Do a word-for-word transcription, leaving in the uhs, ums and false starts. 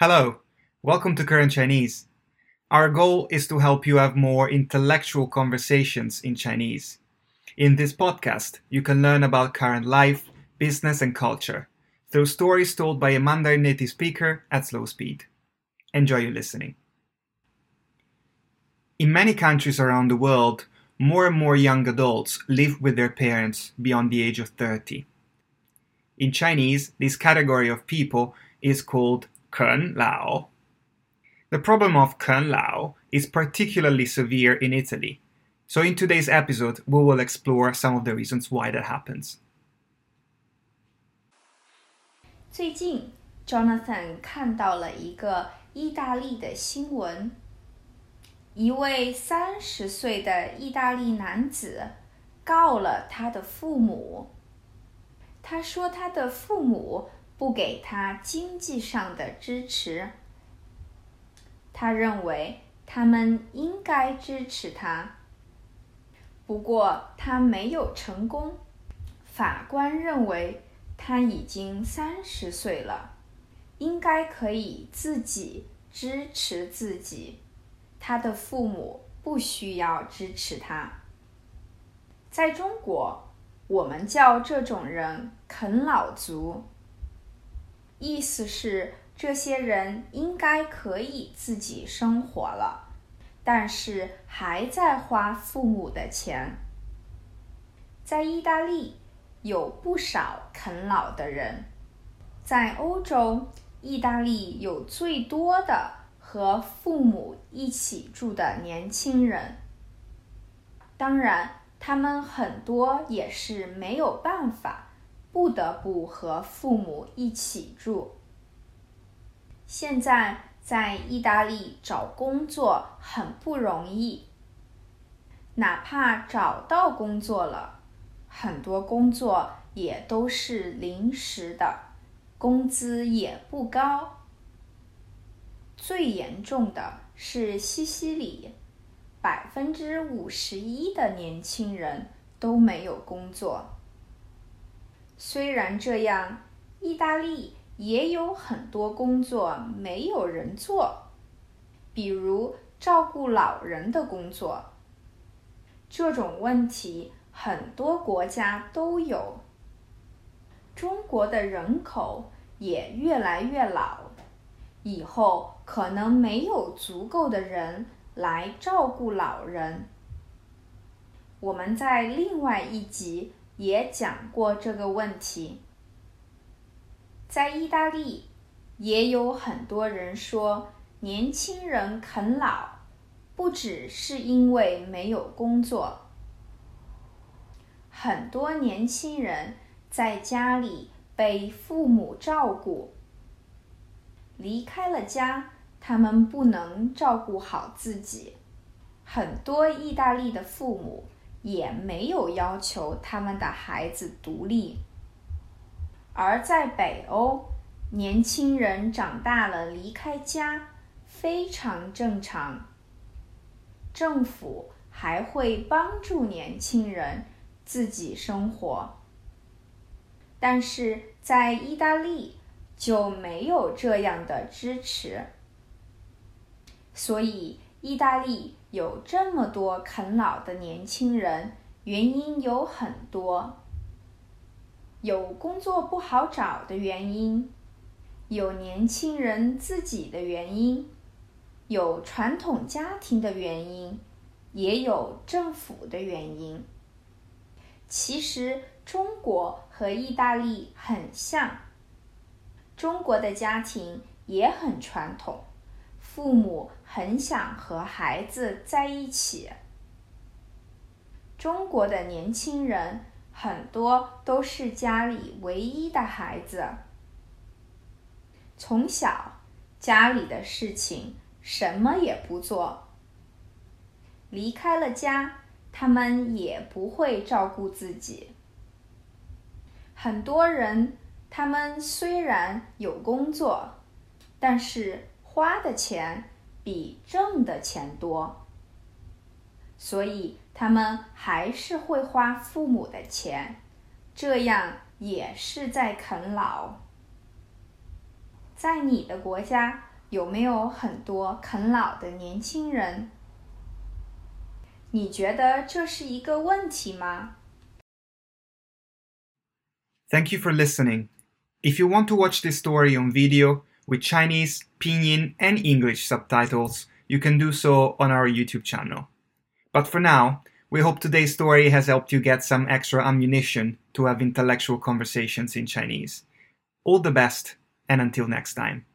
Hello, welcome to Current Chinese. Our goal is to help you have more intellectual conversations in Chinese. In this podcast, you can learn about current life, business, and culture through stories told by a Mandarin native speaker at slow speed. Enjoy your listening. In many countries around the world, more and more young adults live with their parents beyond the age of thirty. In Chinese, this category of people is called 啃老. The problem of 啃老 is particularly severe in Italy, so in today's episode we will explore some of the reasons why that happens. 最近 Jonathan 看到了一个意大利的新闻，一位三十岁的意大利男子告了他的父母。他说他的父母不给他经济上的支持，他认为他们应该支持他。不过他没有成功，法官认为他已经三十岁了，应该可以自己支持自己，他的父母不需要支持他。在中国，我们叫这种人啃老族，意思是这些人应该可以自己生活了，但是还在花父母的钱。在意大利有不少啃老的人，在欧洲，意大利有最多的和父母一起住的年轻人。当然，他们很多也是没有办法，不得不和父母一起住。现在在意大利找工作很不容易，哪怕找到工作了，很多工作也都是临时的，工资也不高。最严重的是西西里，百分之五十一的年轻人都没有工作。虽然这样，意大利也有很多工作没有人做，比如照顾老人的工作。这种问题很多国家都有。中国的人口也越来越老，以后可能没有足够的人来照顾老人。我们在另外一集也讲过这个问题。在意大利，也有很多人说年轻人啃老，不只是因为没有工作。很多年轻人在家里被父母照顾，离开了家，他们不能照顾好自己。很多意大利的父母也没有要求他们的孩子独立。而在北欧，年轻人长大了离开家，非常正常。政府还会帮助年轻人自己生活。但是在意大利就没有这样的支持。所以意大利有这么多啃老的年轻人，原因有很多。有工作不好找的原因，有年轻人自己的原因，有传统家庭的原因，也有政府的原因。其实中国和意大利很像，中国的家庭也很传统，父母很想和孩子在一起。中国的年轻人很多都是家里唯一的孩子，从小家里的事情什么也不做，离开了家，他们也不会照顾自己。很多人，他们虽然有工作，但是花的钱比挣的钱多，所以他们还是会花父母的钱，这样也是在啃老。在你的国家， 有没有很多啃老的年轻人？你觉得这是一个问题吗？ Thank you for listening. If you want to watch this story on video with Chinese, Pinyin, and English subtitles, you can do so on our YouTube channel. But for now, we hope today's story has helped you get some extra ammunition to have intellectual conversations in Chinese. All the best, and until next time.